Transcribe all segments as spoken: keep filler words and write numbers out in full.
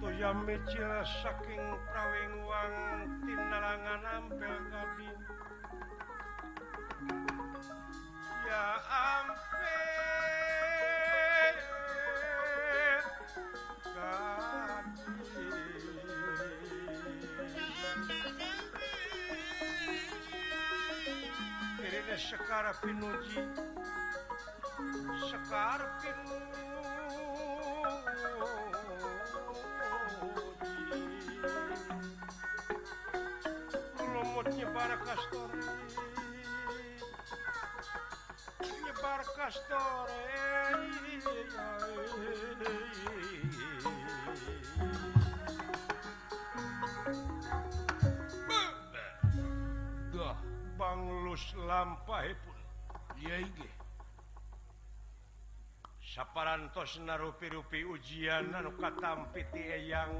Toya mejil saking prawing wang tinalangan ampel kabin. Ya ampel kabin. Kirina sekar pinuji sekar pinuji lumut nyebar kastore nyebar kastore dah banglus lampahipun iya inggih saparantos narupi-rupi ujian anu katampi ti eyang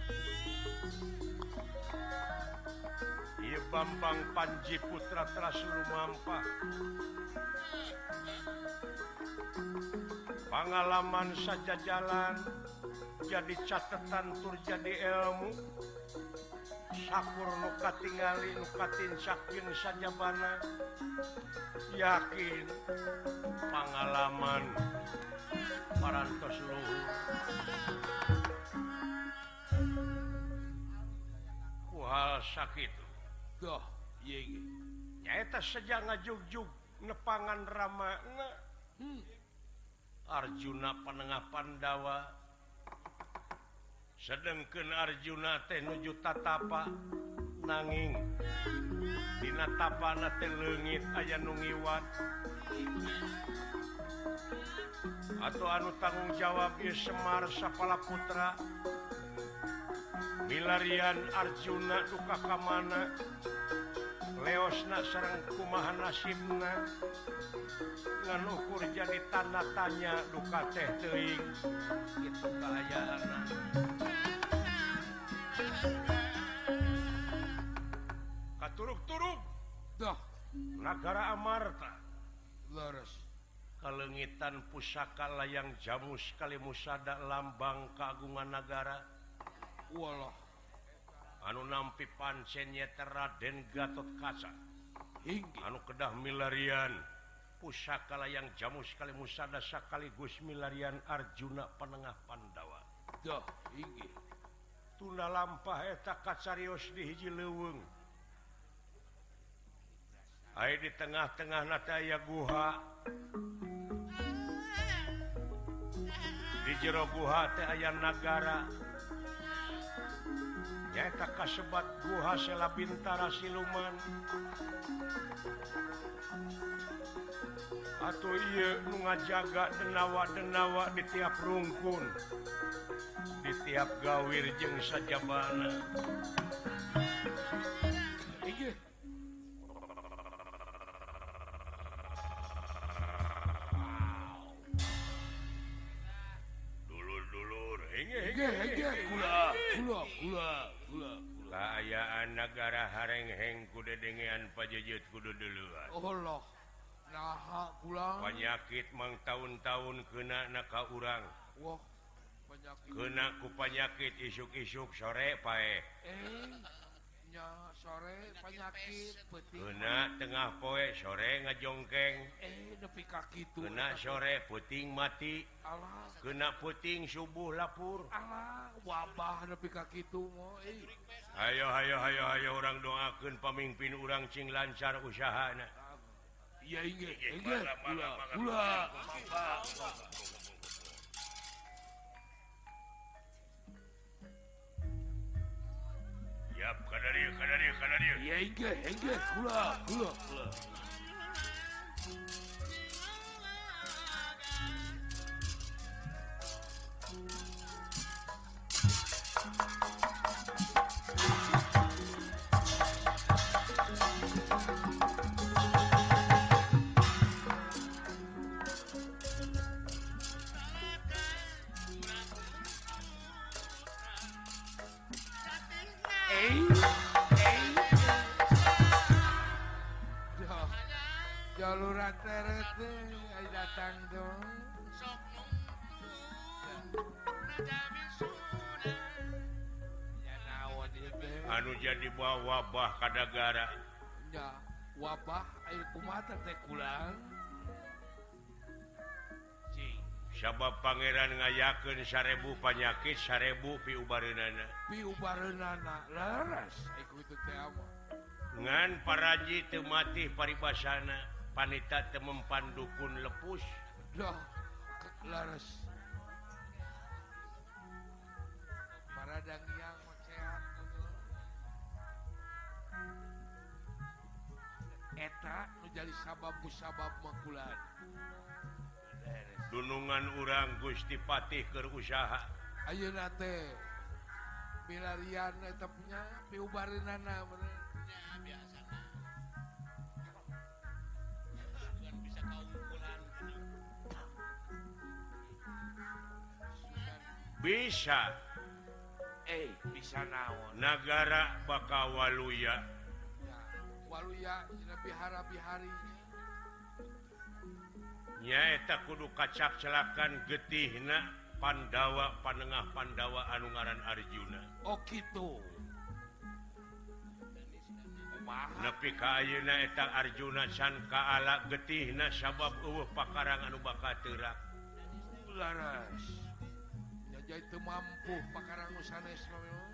ieu Bambang Panji Putra Trasulumampah pangalaman saja jalan jadi catatan tur jadi ilmu sakur nu katingali nu katincakeun sajabana yakin pangalaman parantos luhur ku hal sakitu dah iya inggih nyaeta saja ngajugjug nepangan ramana hmm. Arjuna panengah Pandawa sedengkeun Arjuna teh nuju tatapa nanging dina tapana teh leungit aya nu ngiwat atau anu tanggung jawab ieu Semar Sapalaputra milarian Arjuna duka ka mana leosna sareng kumaha nasibna ngan ukur jadi tanda tanya duka teh teuing kitu kahayaanna katuruk-turuk dah Nagara Amarta laras kalengitan pusaka layang jamus kali musada lambang keagungan negara walah anu nampi pancen nyata Raden Gatot Kaca inggih anu kedah milarian pusaka layang jamus kali musada sekaligus milarian Arjuna panengah Pandawa dah inggih tunda lampah eta kacarios di hiji leuweung aya di tengah-tengah nata aya guha di jero guha teh aya nagara nyaeta kasebat guha Sela Bintara Siluman atuh ieu nu ngajaga denawa-denawa di tiap rungkun di tiap gawir jeung sajabana inggih dulur-dulur inggih inggih inggih kula kula kula kula kaayaan negara harengheng kudu dengean pajejeut kudu duluan Allah naha kula penyakit mang tahun-tahun kena na ka urang wah penyakit kena ku penyakit isuk-isuk sore pae eh nya sore penyakit peuting kena tengah poe sore ngajongkeng eh nepi ka kitu kena sore puting mati alah kena puting subuh lapur alah wabah nepi ka kitu moh eh ayo ayo ayo ayo urang doakeun pamimpin urang cing lancar usahana iya inggih inggih kula kula yap kadarieu kadarieu kadarieu iya inggih inggih kula kula kula Jaluran terete ay datang dong. jadi bawa wabah ka negara. Ya, wabah air kumaha teh kulang. Cing. Sabab pangeran ngayakeun sarebu panyakit sarebu piubareunana. Piubareunana laras iku itu teh mah. Ngan paraji teu mati paribasana, panita teu mempan dukun lepus. Dah, laras. Paradang yang sehat. Eta nu jadi sabab-sabab makulan. Dunungan urang Gusti Patih keur usaha. Ayeuna teh milarian eta punya piubareunana bener. Ya biasana. Bukan bisa kaungkulan. Bisa. Eh, bisa naon? Nagara bakal waluya. Ya, waluya dina bihara-biharinya. Nyaeta kudu kacak celakan getihna Pandawa panengah Pandawa anu ngaran Arjuna. Oh gitu. Kumaha? Nepi ka ayeuna eta Arjuna can kaala getihna sabab eueuh pakarang anu bakal teurak. Laras. Ya jadi teu mampu pakarang nu sanes mah.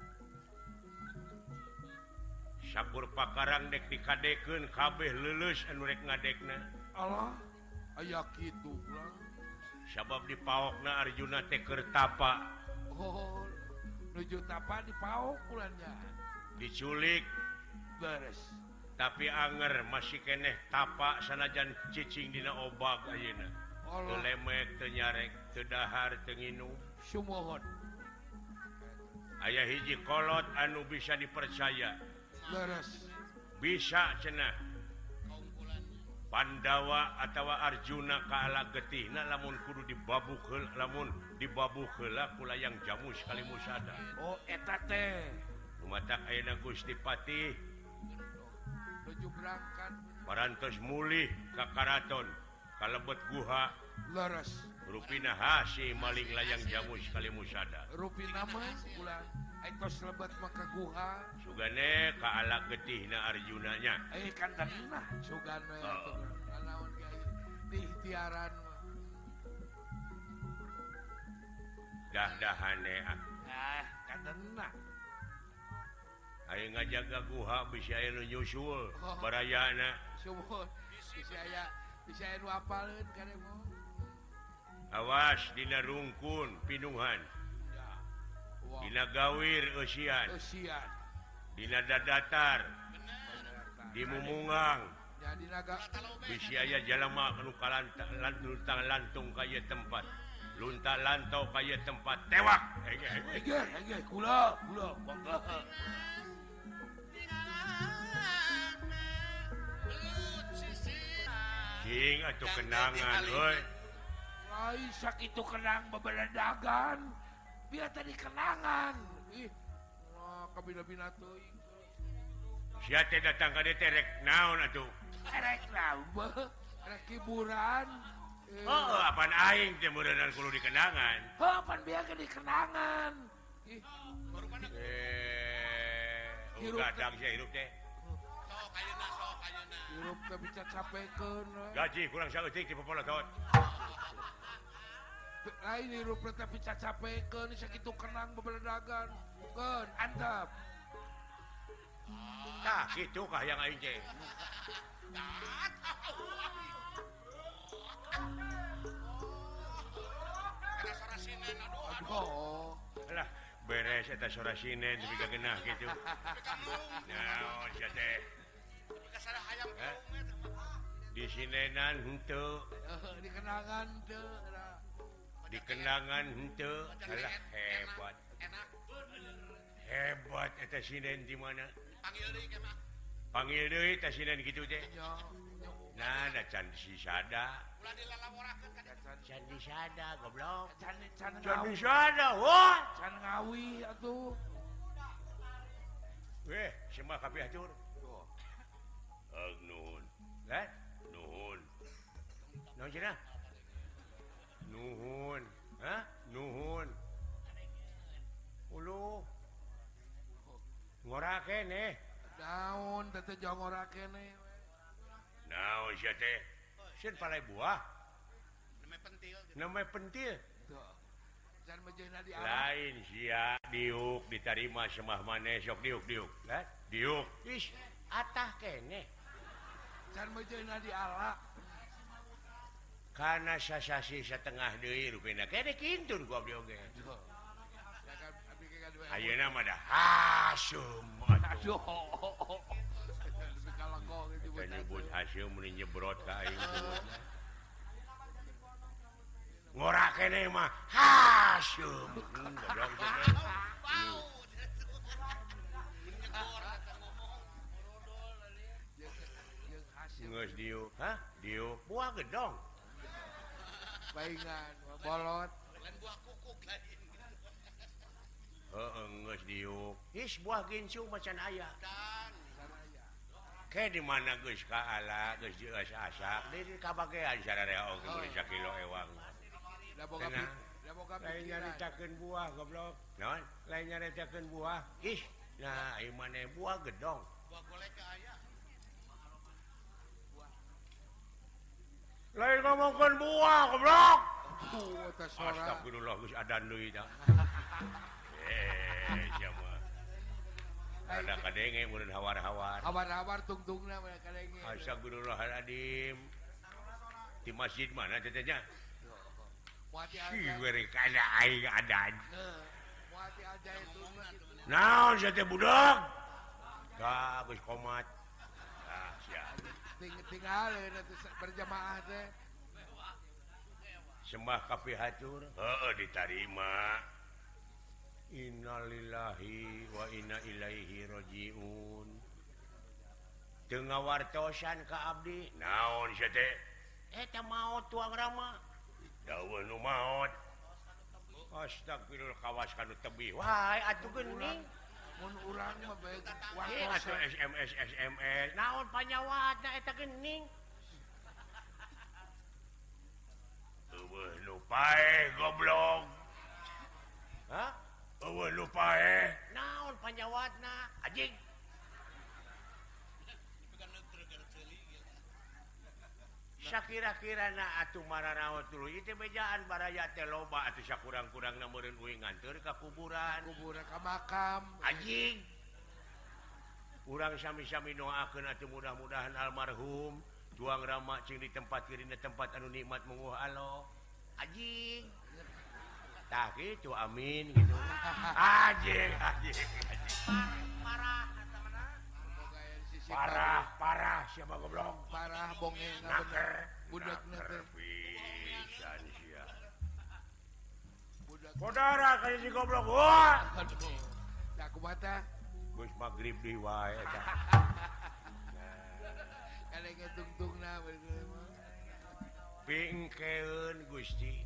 Sakur pakarang dek dikadekeun kabeh leuleus anu rek ngadekna. Allah, aya kitu ulah. Sabab dipaokna Arjuna teh keur tapa. Oh, nuju tapa dipaok ulanya. Diculik Beres. tapi anger masih keneh tapa sanajan cicing dina obag ayeuna. Teu Allah, lemek, teu nyarek, teu dahar, teu nginum. sumohon. Aya hiji kolot anu bisa dipercaya. Beres. Bisa cenah Kaungkulannya. Pandawa atawa Arjuna kaala getihna lamun kudu dibabuh heula, lamun dibabuh heula ku layang jamu sekali musada. Oh, eta teh. Lumatak ayeuna Gusti Patih Nuju berangkat. parantos mulih ka karaton kalebet guha Leres. rupina hasi maling layang jamu sekali musada. Rupi nama ulah. Aitos lebat maka guha. Sugane kaala getihna Arjuna nya. Eh kan tenah sugana Oh. itu. Naon ge di ikhtiaran mah. Dah-dahane Ah, kan tenah. aya ngajaga guha bisa aya nu nyusul Oh. barayana. Sumohon. Bisa aya bisa aya nu apaleun kare mah. Awas dina rungkun pinuhan, Ya. Wah. dina gawir eusian, Usian. dina dadatar, di mumungang, Jadi naga bisi aya jalema anu kalanta luntang lantung ka ieu tempat. Lunta lantau ka ieu tempat tewak. Ege, ege. ege ege kula kula bangga. Cing atuh kenangan euy. Lain sakitu kenang babaledagan. Biar tadi kenangan. Ih. Wah, kabina-bina teuing. Sia teh datang ka dieu teh rek naon atuh? Erek nambah. Erek hiburan. Eh, Heueuh, apaan aing teh meureunnan kudu dikenangan. oh, pan biar ke di kenangan. Ih, Eh, Hirup gadang sia hirup teh. Sok ayeuna sok ayeuna. hirup teh bisa capekeun. we. Gaji kurang saeutik di popolotot. Lain hirup teh bisa capekeun sakitu kenang babaledagan. Keun, antep. Tah kitu kah yang aing teh. Ada suara sinen aduh aduh. Aduh. Alah, beres eta sora sinen tapi kagenah kitu. Naon sia teh? Tapi kasara hayam Eh? kaung eta. Di sinenan henteu, Eh, di kenangan teu. Ra. di kenangan henteu. Alah hebat. Enak. Hebat eta sinen di mana? Panggil deui ke mah. Panggil deui eta sinen kitu teh. Nya, nya. Nah, da can disada. Ulah dilalamorakeun ka dieu. Can disada goblok. Can can Can ngawi. disada, wah. Can ngawi atuh. Weh, semua kabeh atur. Tuh. Ag nuhun. Lah, nuhun. Naon cenah? Nuhun. Hah? Nuhun. Ulu. Ngorak kene. Naon teh jong ora kene. Naon sia teh? Sieun palai buah. Namanya pentil. Namanya pentil. Tuh. Can mejeuna di alam. Lain sia diuk diterima semah maneh sok diuk diuk. Lah, diuk. Ish, atah kene. Can mejeuna di ala. Kana sasasi setengah deui rupina. Kene kintun ku abdi oge. Tuh. Ya kan abdi ke kadua. Ayeuna mah dah hasum. Aduh. Lebih kalengkong itu Kita nyebut hasum mun nyebrot ka aing nyebutna. Ngora kene mah hasum. Hmm, bodong kene. Bau. Menyegor kata ngomong. Jeung hasil Geus diuk. Hah? Diuk buah gedong. baingan bolot. Lain buah kukuk lain. Heeh, geus diuk. Is buah ginsu macan aya. Dan Saraya. Ke di mana geus ka ala, geus geus asak, di kabagean sararea oge geus sakilo ewang. Da boga Tenang. da boga Lain pikiran. nyaritakeun buah goblok. Naon? Lain nyaritakeun buah. Ih, nah ieu maneh buah gedong. buah golek ke aya. Lain ngomongkeun buah goblok. Tuh teh sora. Astagfirullah geus adan deui tah. Eh, jama. Ada kadenge mun hawar-hawar. Habar-habar tungtungna mah kadenge. Astagfirullahaladzim. Di masjid mana tetenya? Muati Si aja. beri kada aing adan. Heuh. Muati aja itu mah gitu. Naon sia teh budak? Ka geus komat. Ah, sia. Ting tinggal itu berjamaah teh. Sembah ka pihatur. Heeh ditarima. Innalillahi wa inna ilaihi rajiun. Teu ngawartosan ka abdi. Naon sia teh? Eta maot tuang rama. Daweuh nu maot. Astagfirullah kawas kanu tebih. Wahai atuh geuning. Mun urang mah bae Eh, atuh waktu S M S S M S. Naon panyawatna eta geuning? Eueuh nu paeh goblok. Hah? Eueuh nu paeh. Naon panyawatna? Anjing. Bukan neutre gara ceuli gitu. Sakira-kirana atuh maranaon tuluy teh bejaan baraya teh loba atuh sakurang-kurangna meureun uing nganteur ka kuburan. kuburan ka makam. Anjing. Urang sami-sami doakeun atuh mudah-mudahan almarhum tuang rama cing di tempat dina tempat anu nikmat munguh Allah. Anjing. Tah kitu amin gitu. Anjing, anjing, anjing. Parah kata mana? Boga aya di sisi Parah, parah siapa goblok. parah bonge nga Naker, bener. Budakna naker teh pisan sia. budak. Saudara kayak si goblok. Wah. Aduh. Da kumaha Geus magrib deui wae eta. kadenge tungtungna bener mah. Pingkeun Gusti.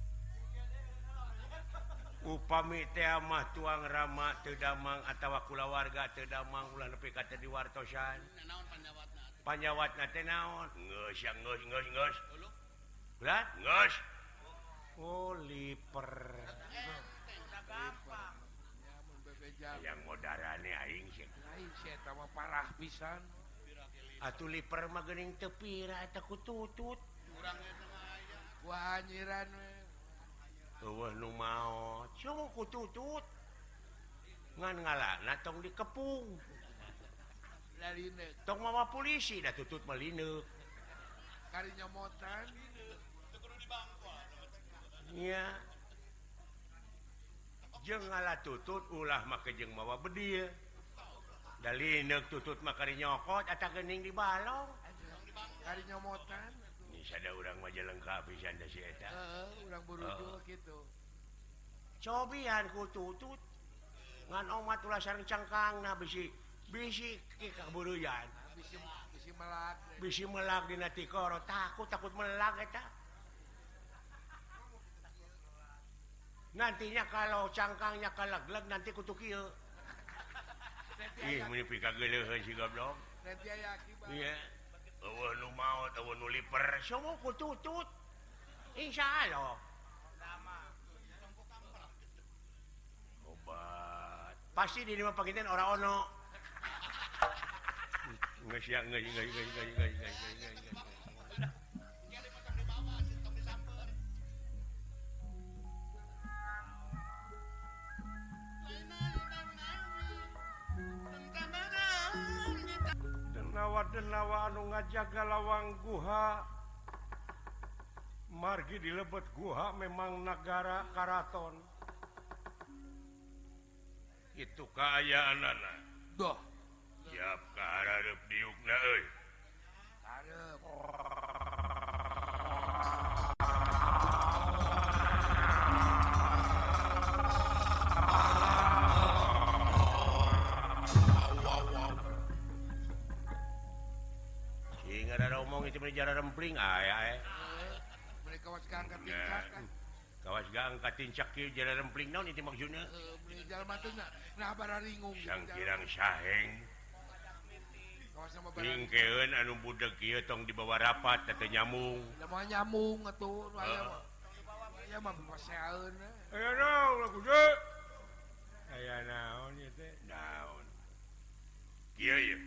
Upami teh mah tuang rama teu damang atawa kulawarga teu damang ulah nepi ka teu diwartosan. Naon panjawatna? Panyawatna teh naon? Geus ya geus geus geus. Dulu. Belat? Geus. Oh, liper. Gampang. Ya mun bebejam. Yang modarane aing sih. Lain si eta mah parah pisan. Atuh liper mah geuning teu pira eta ku tutut. Urang itu mah aya. Wah anjiran we. Eueuh nu maot. Sungguh ku tutut. Ngan ngalana tong dikepung. Lalineuk. Tong mawa polisi dah tutut malineuk. Kari nyomotan. Teu kudu dibangkol. Nya. Jeung ngala tutut ulah make jeung mawa bedil. Dalineuk tutut mah kari nyokot eta geuning di balong. Kari nyomotan. Ini sada urang mah jelengka pisan da si eta. Heeh, urang burudu kitu. Cobian ku tutut. Ngan omat ulah sareng cangkangna bisi bisi ki kaburuyan. Bisi bisi melak. Bisi melag dina tikoro takut takut melag eta. Nantinya kalau cangkangnya kalaglag nanti kutu kieu. Ih, meni pikageuleuheun si goblok. Nanti aya akibat. Iya. Eueuh nu maot, eueuh nu liper, semua ku tutut. Insyaallah. Obat. Pasti di lima pagitan ora ono. Geus ya geus geus geus geus geus geus geus. Dia dipotong di bawah, si tong disamper. Denawa-denawa anu ngajaga lawang guha margi di lebet guha memang negara karaton itu kaayaanana Doh, siap kahareup diukna euy hareup. sing ada omong itu menjara rempling aya eh Mereka was angkat tingkat kan. kawas gang katincak kieu jara rempling naon itu maksudna Eh, beli jalan matuna. Nah, bararingung. sang kirang saheng Kawas sama bararingung. hingkeun anu budeg kieu tong dibawa rapat teh nyamung Udah mau nyamung atuh, aya Heeh. mah. Aya mah paseaeun. aya naon lah kudu aya naon ieu teh naon kieu ye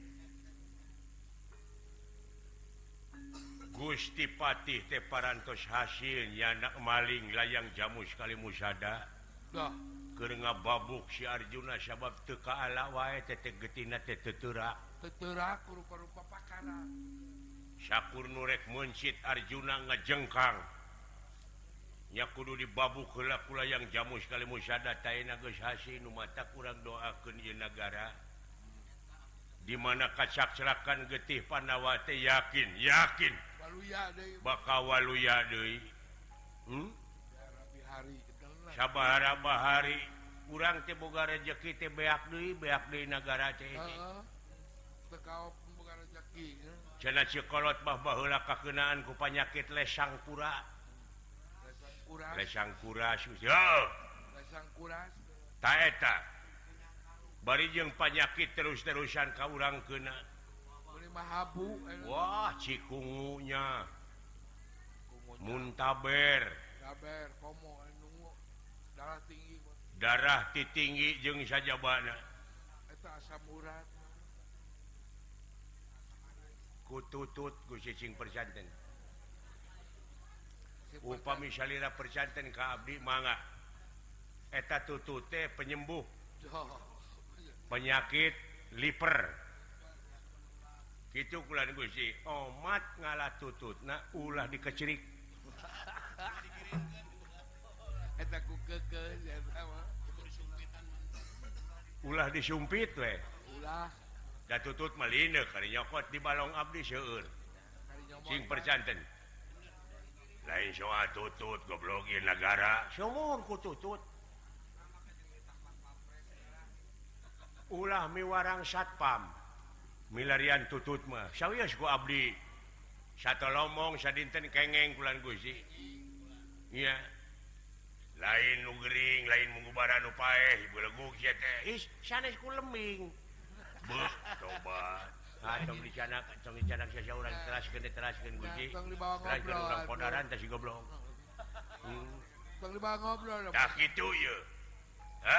Gusti Patih teh parantos hasil nyanak maling layang jamu sekali musada Dah, keur ngababuk si Arjuna sabab teu kaala wae teteh geutina teh teuterak teterak rupa-rupa pakara. sakur nurek mencit Arjuna ngajengkang nya kudu dibabuk heula ku layang jamu sekali musada taina geus hasil nu mata kurang doakeun ieu nagara di mana kacak celakan getih Pandawa teh yakin yakin Waluya deui. bakal waluya deui hmm? Rabi hari kedelna. sabahara bahari urang teh boga rezeki teh beak deui beak deui nagara teh Heeh. Teu kaop boga rezeki. cenah cikolot mah baheula kakeunaan ku panyakit lesang kura Lesang kuras. lesang kura yo Lesang kuras. ta eta bari jeung panyakit terus-terusan ka urang keuna Beli mahabu. wah cikungunya Kumu muntaber Sabar, komo, nunggu. Darah tinggi. Bos. darah ti tinggi jeung sajabana Eta asam urat. ku tutut ku cicing percanten Si upami salira percanten ka abdi mangga eta tutut teh penyembuh Doh. penyakit liver kitu kulan Gusti omat ngalah tututna ulah dikecerik Eta ku kekeun eta mah. ulah disumpit we Ulah da tutut mah lineuk kari nyokot di balong abdi seueur kari nyomot. sing percanten lain soal tutut goblok ieu nagara sumur ku tutut ulah miwarang satpam milarian tutut mah sawios ku abdi satolomong sadinten kengeng kulan Gusti iya lain nu gering lain munggubaran nu paeh beleguk sia teh is sanes ku lembing beuh tobat ah tong dicanak tong dicanak sia urang teraskeun teraskeun Gusti Tong dibawa teraskeun ngobrol. urang podaran teh si goblok hmm. Tong dibawa ngobrol. tah kitu ye ha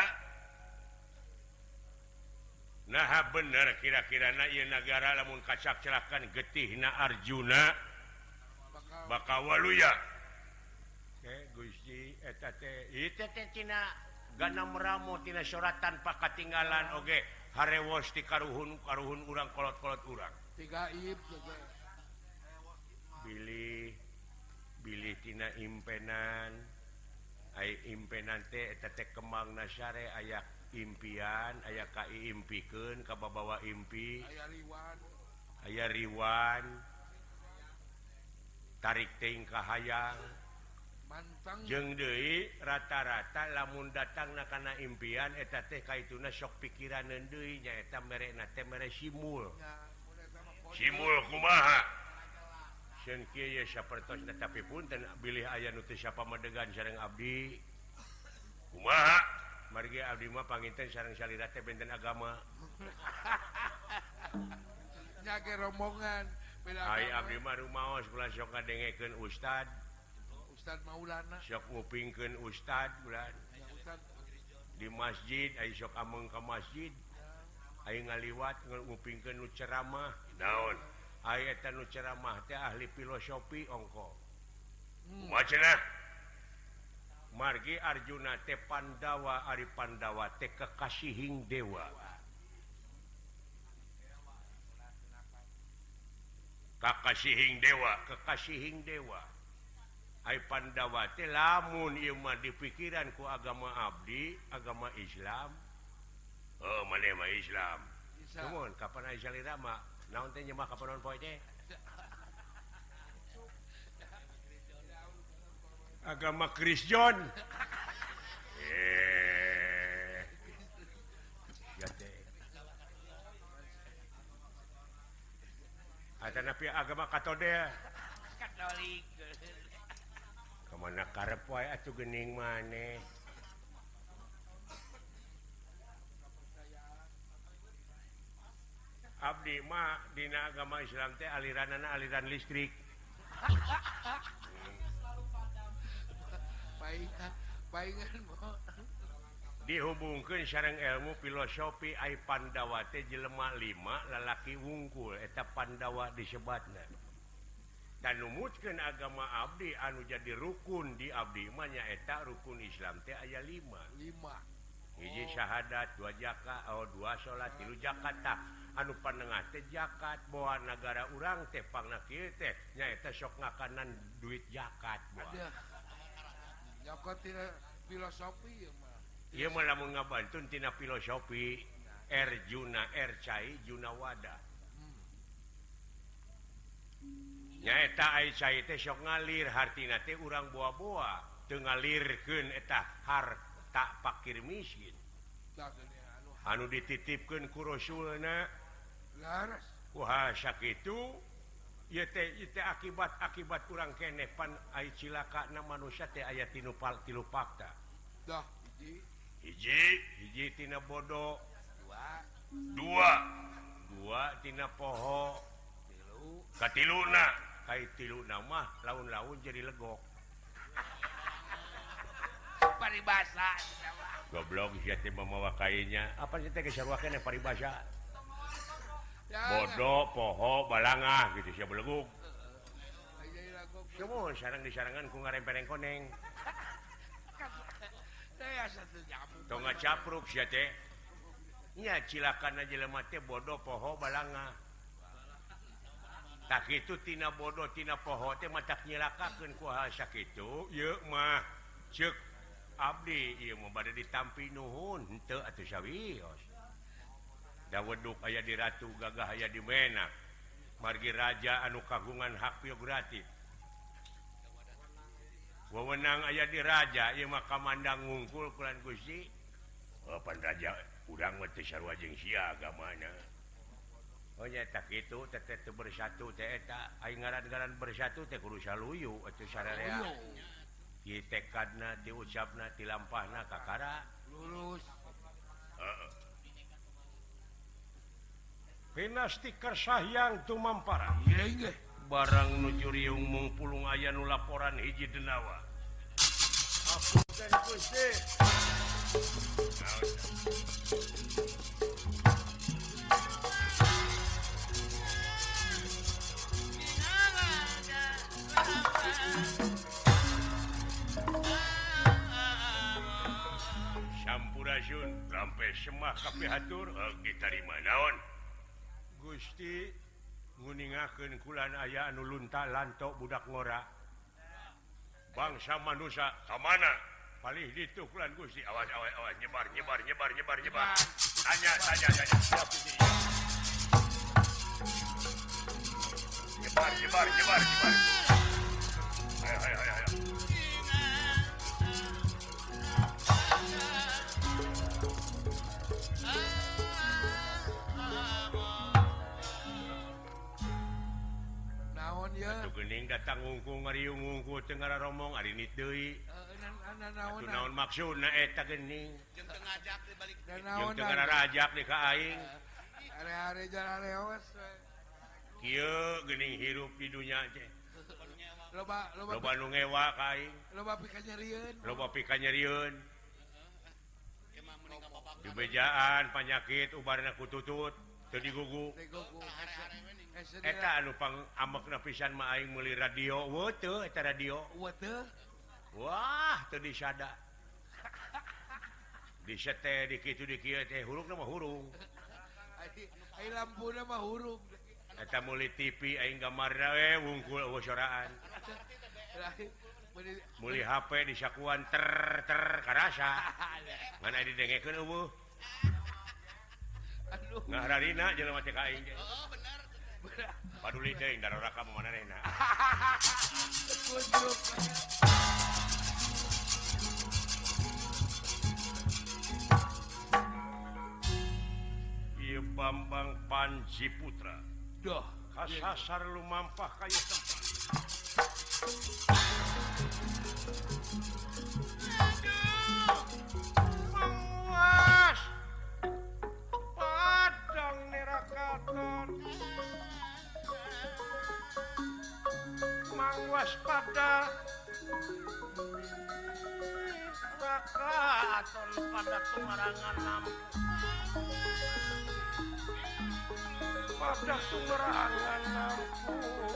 nah bener kira-kirana ieu nagara lamun kacak celakan getihna Arjuna Bakal bakal waluya ke Gusti eta teh ieu teh teh tina ganam ramo tina suratan pakatinggalan oge harewos ti karuhun karuhun urang kolot-kolot urang tiga ib juga. bilih bilih tina impenan ai impenan teh eta teh kembangna sare aya impian aya kaiimpikeun ka babawa impi Aya riwan. aya riwan tarik teuing ka hayang Mantang. jeung deui rata-rata lamun datangna kana impian eta teh kaituna sok pikiraneun deui nya eta merena teh mere simul Ya, mulai sama kode. simul kumaha sieun kieu ye sapertosna tapi punten bilih aya nu teu sapamadegan sareng abdi kumaha margi abdi mah panginten sareng salira teh benten agama Nyage rombongan. Beda ai agama. abdi mah rumaos kula sok ngadengekeun ustad Ustad Maulana. sok ngupingkeun ustad bulan Ya, Ustad. di masjid ai sok ameng ka masjid aing ngaliwat ngupingkeun nu ceramah naon aya eta nu ceramah teh ahli filosofi ongko kumaha cenah margi Arjuna teh Pandawa ari Pandawa teh kekasihing dewa kakasihing dewa kekasihing dewa ai Pandawa teh lamun ieu mah dipikiran ku agama abdi agama Islam oh maneh mah Islam kumaha kapan aya salira mah naon teh nyembah ka panon poe teh agama Kristen eh ya teh ada napi agama Katode Katolik kemana karep wae atuh geuning maneh abdi mah dina agama Islam teh aliranana aliran listrik dihubungkeun sareng ilmu filosofi ai Pandawa teh jelema lima lalaki wungkul eta Pandawa disebatna dan numutkeun agama abdi anu jadi rukun di abdi mah nyaeta rukun Islam teh aya lima lima hiji syahadat dua zakat oh dua salat tilu zakat tah anu panengah teh zakat boa nagara urang teh pangna kieu teh nyaeta sok ngakanan duit zakat boa zakat tina filosofi ya mah ieu mah lamun ngabantun tina filosofi Arjuna Ercai Junawada nyaeta ai cai teh sok ngalir hartina teh urang boa-boa teu ngalirkeun eta harta fakir miskin anu dititipkeun ku Rasulna laras kuha sakitu ieu teh ieu teh akibat-akibat urang keneh pan ai cilakana manusia teh aya tinu tilu fakta dah hiji hiji hiji tina bodoh dua dua dua tina poho tilu katiluna kai tiluna mah laun-laun jadi legok paribasa goblok sia teh mamawa kainya apa sih teh kesarwakeun paribasa bodoh poho balangah gitu sia beleguk semua sareng disarangan ku ngarempereng koneng tong ngacapruk sia teh nya cilakana jelema teh bodoh poho balangah tak kitu tina bodoh tina poho teh matak nyilakakeun ku hal sakitu ieu mah ceuk abdi ieu mah bade ditampi nuhun henteu atuh sawios da weduk aya di ratu gagah aya di menak margi raja anu kagungan hak prerogatif wewenang aya di raja ieu mah kamandang ngungkul kulan Gusti oh pan raja urang mah teu sarua jeung sia agamana oh nyata kitu teteh teu bersatu teh eta aing ngaran-ngaran bersatu teh kudu saluyu atuh sararea ieu tekadna diucapna tilampahna kakara lurus heeh Pinasti kersahyang tumampara iya barang nuju riung mung pulung aya nu laporan hiji denawa apunten Gusti Sampurasun lampe semah kapihatur ditarima naon Gusti nguningakeun kulan aya anu lunta lantok budak ngora bangsa manusia ka mana palih ditu kulan Gusti awas awas awas nyebar nyebar nyebar nyebar nyebar tanya tanya tanya siap Gusti nyebar nyebar nyebar nyebar ayo ayo ayo ayo Atuh geuning datang ngungku ngariung ngungku teu ngararomong ari nit deui. Atuh naon maksudna eta geuning? Jeung teu ngajak di balik Jeung teu ngararajak di ka aing. Are-are jalan leos. Kieu geuning hirup di dunya teh. Loba loba Loba nu ngewa ka aing. Loba pika nyerieun. Loba pika nyerieun. emang mending ka bapak. Di bejaan penyakit ubarna kututut teu digugu eta anu pang ambekna pisan mah aing meuli radio weu teu eta radio wah teu disada disete di kitu di kieu teh hurungna mah hurung ai lampuna mah hurung eta meuli T V aing gambarna we wungkul eueuh soraan meuli H P disakuan ter ter karasa ngan aya didengekeun eueuh aduh ngahararina jelema teh ka aing Oh bener. paduli teuing daroraka manehna Kudruk. ieu Bambang Panji Putra Doh, kasasar lumampah kaya tempat Mangwas padang nerakaton Mangwas pada nerakaton pada tumarangan lampu pada tumarangan lampu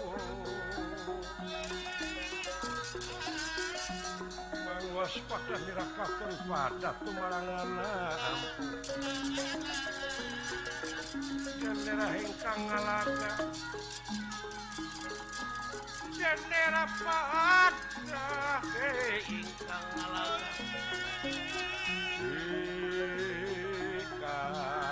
Mangwas pada nerakaton pada tumarangan lampu Jendera hengkang ngalaga Jendera pada hengkang ngalaga Ika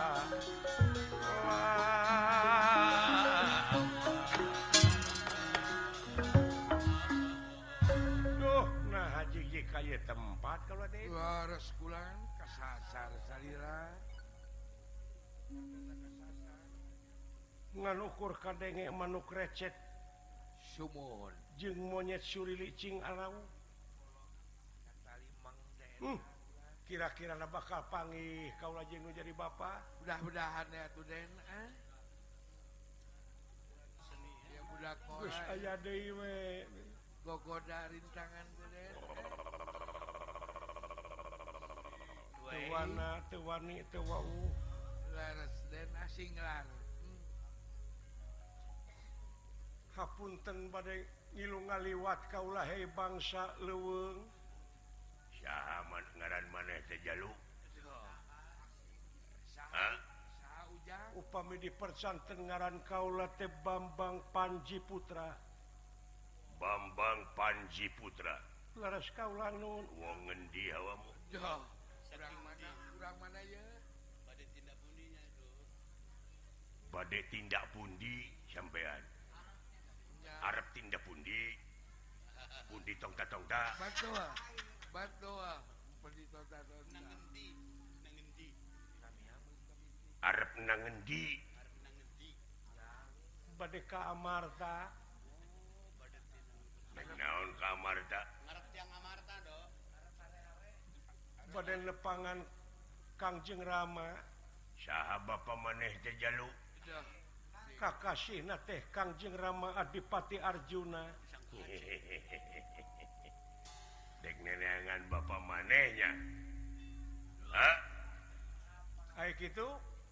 Duh, nah haji kaya tempat kalau ada itu. waras kulan kasasar salira. Ngan ukur kadenge manuk recet Sumon. jeung monyet suri licing alau. Hmm. Kira-kira bakal panggih kaula jeung nu jadi bapa. Mudah-mudahan ya tuh Den. Eh? Ya budak Geus mola. aya deui we. Gogoda rintangan tuh Den. Teu wana, teu wani, teu wau. Laras Den asing lar. Hmm. Hapunten bade ngilu ngaliwat kaula he bangsa leuweung. Saha man ngaran maneh teh Jalu? Hah? Saha ujang? Upami dipercanten ngaran kaula teh Bambang Panji Putra. Bambang Panji Putra. Laras kaula nun wong ngendi hawamu? Joh. Kurang mana? Kurang mana ya? Pada tindak bunyinya itu. Bade tindak pundi sampean? Ya. Arep tindak pundi? Pundi tong ta tong ta. Bantu ah. Bantu ah. Pergi tonton Nang ngendi? Nang ngendi? Arep nang ngendi? Arep nang ngendi? Bade ka Amarta. Oh, pada tindak. Naon ka Amarta? Ngarep tiang Amarta do. Bade lepangan Kangjeng Rama. Saha bapa maneh teh Jalu? Joh. Kakasihna teh Kangjeng Rama Adipati Arjuna. Dek neneangan bapa manehnya. Hah? Kayak gitu?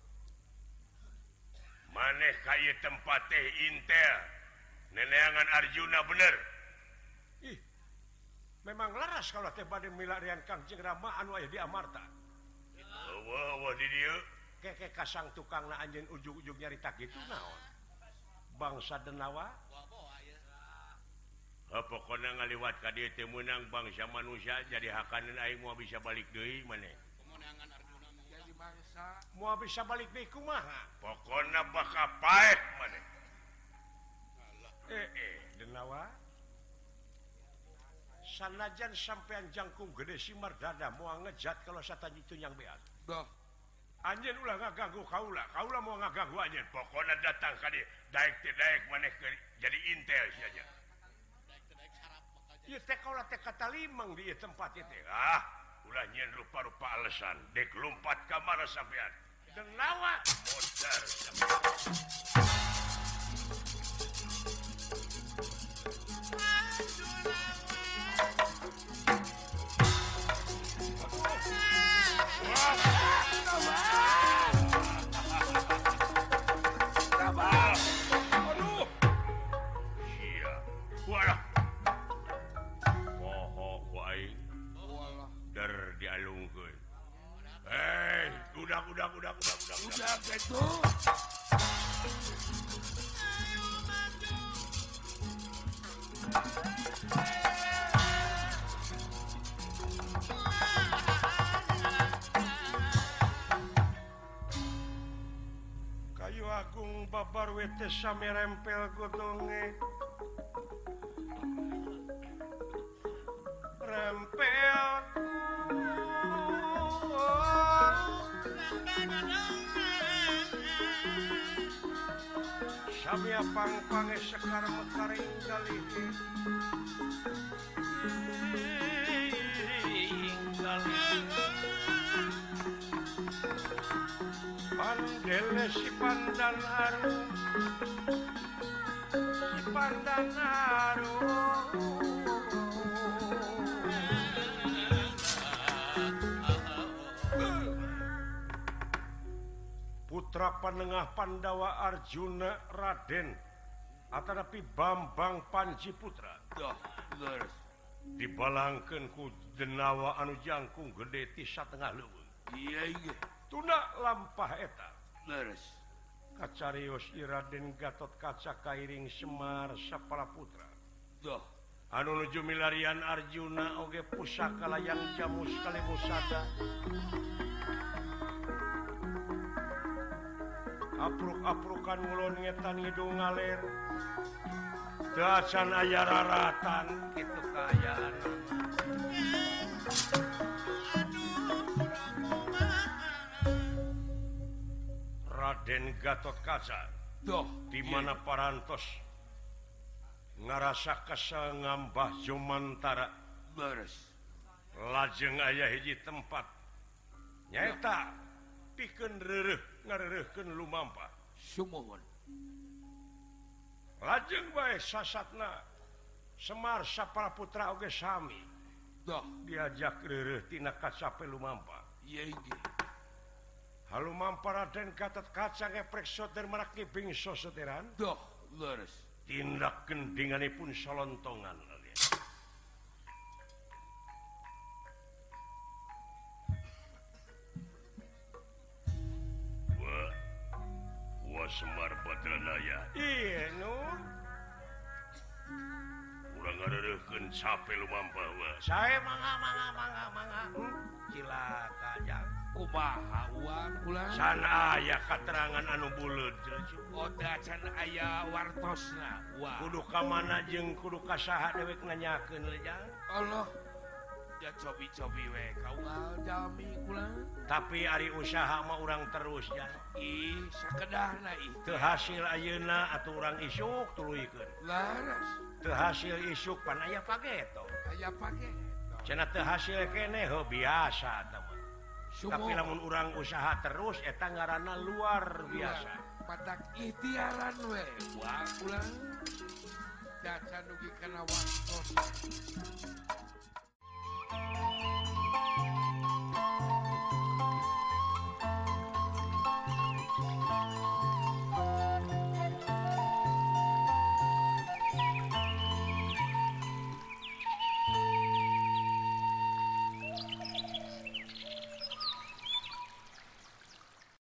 Maneh kaya tempat teh intel. Neneangan Arjuna bener. Ih, memang laras kalau teh bade milarian Kangjeng Rama anu aya di Amarta. Wah, wah di dieu. Keke kasang tukangna anjeun ujug-ujug nyarita gitu naon? Bangsa Denawa? Wah, ya. Ha pokona ngaliwat ka dieu teh meunang bangsa manusia jadi hakaneun aing moal bisa balik deui maneh. Pemenangan Arjuna mah. Jadi bangsa. Moal bisa balik deui kumaha? Pokona bakal paeh maneh. Eh eh Denawa. Sanajan sampean jangkung gede si Mardada moal ngejat kalau satanji tunyang beas. Doh. Anjeun ulah ngaganggu kaula, kaula mau ngaganggu anjeun. Pokona datang ka dieu, daek teh daek maneh jadi intel saja. Daek daek sarap aja. Ieu teh kaula teh katalimang di ieu tempat ieu teh. Ah, ulah nyen rupa-rupa alesan dek lompat ka mana sampean. Denawa modar sampean. Wah, Aduh. Sia. Walah. Poho ku aing. Walah. Der dialungkeun. Hei, udah udah udah udah udah Udah gitu. Kayu agung babar wete sami rempel godonge. Rempel. Sami pang-pange sekar mekaring galih. Pandele si pandan aru, si pandan aru. Putra Panengah Pandawa Arjuna Raden atanapi Bambang Panji Putra. Dah, leres. Dibalangkeun ku denawa anu jangkung gede ti satengah leuweung. Iya iya. Tuna lampah eta. Leres. Kacarios Iraden Gatot Kaca Kairing Semar Sapala Putra. Dah. Anu nuju milarian Arjuna oge pusaka layang jamu sekali musada. Apruk-aprukan ngulon ngetan hidung ngaler. Teu acan aya raratan kitu kaayaan. Raden Gatot Kaca. Dah. Di mana parantos ngarasa kesel ngambah Jomantara. Leres. Lajeng aya hiji tempat nyaeta pikeun reureuh ngareureuhkeun lumampah. Sumuhun. Lajeng bae sasatna Semar Sapala Putra oge sami Dah. diajak reureuh tina kacape lumampah. Iya iya. Halumampah Raden Gatot Kaca ngeprek soter marak bingso soteran. Dah. Leres. Tindak gendinganipun solontongan. Wah, wah Semar Badranaya. Iya, nu. Urang ngareureuhkeun sape lumampah wah. Sae mangga mangga mangga mangga. Hmm? Cilaka jang. Kumaha uang ulang? San aya katerangan anu buleud jeung Oda can aya wartosna. Wah. kudu ka mana jeung kudu ka saha dewek nanyakeun le jang. Allah. Ya cobi-cobi we kaungal jami ulang. Tapi ari usaha mah urang terus jang. Ih, sakedahna ih. Teu hasil ayeuna atuh urang isuk tuluikeun. Laras. Teu hasil isuk pan aya pageto. Aya pake. Cenah teu hasil keneh heuh biasa tah mah. Sumo. Tapi lamun urang usaha terus eta ngaranna luar biasa. Padak ikhtiaran we. Wah ulang. Dacan dugi kana wartos.